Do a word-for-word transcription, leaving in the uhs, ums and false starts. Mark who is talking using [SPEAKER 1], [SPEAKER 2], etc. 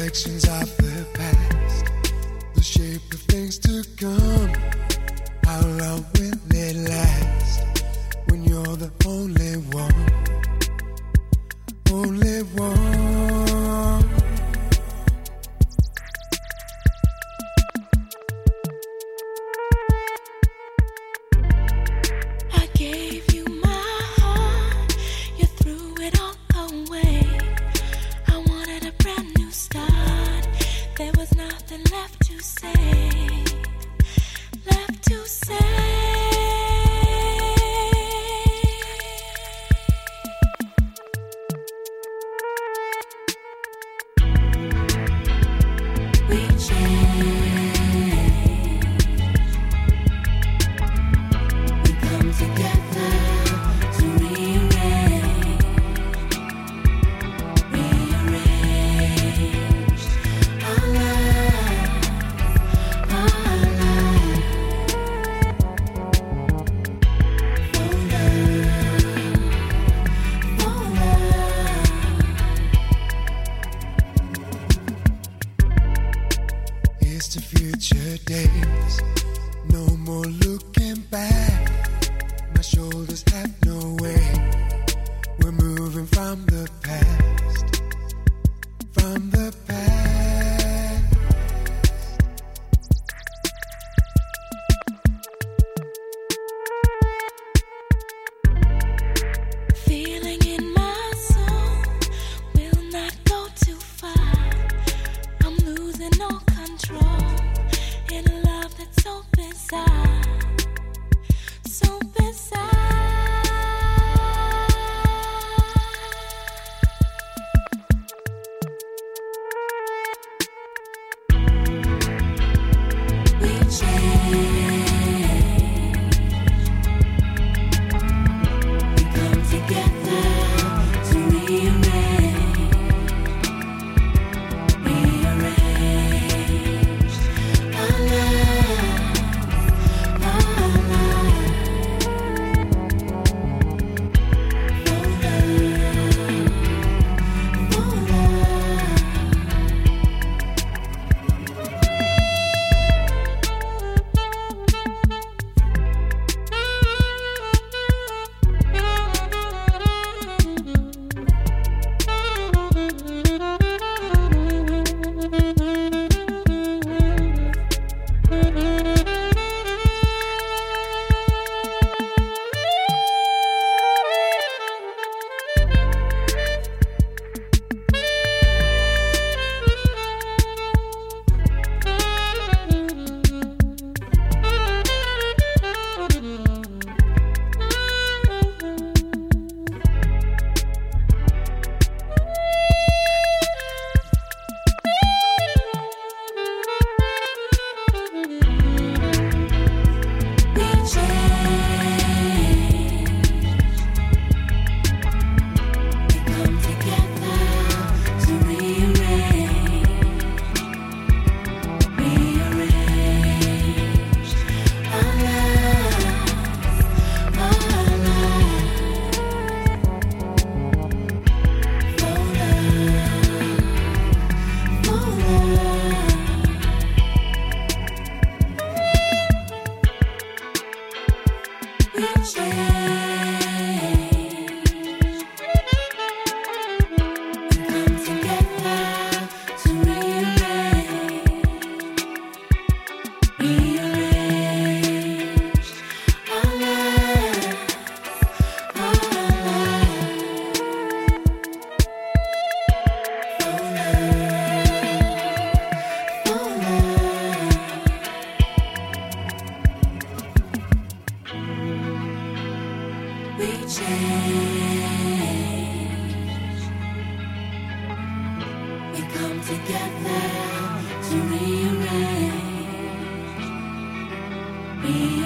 [SPEAKER 1] reflections of the past, the shape of things to come. How long will it last when you're the only one, only one?
[SPEAKER 2] I gave you my heart, you threw it all away. I wanted a brand new start, there was nothing left to say, left to say. We change, we come together to rearrange, rearrange our lives, our lives for love, for love.
[SPEAKER 1] Here's to future days, no more looking back. My shoulders have no weight, we're moving from the past, from the past.
[SPEAKER 2] Feeling in my soul will not go too far. I'm losing all control in a love that's so bizarre, so bizarre. We change, we come together to rearrange, rearrange our lives, our lives for love, for love. We change, we come together to rearrange, rearrange our lives, our lives for love, for love. We change, we come together to rearrange, rearrange our lives, our lives for love, for love. We change, we come together to rearrange, rearrange.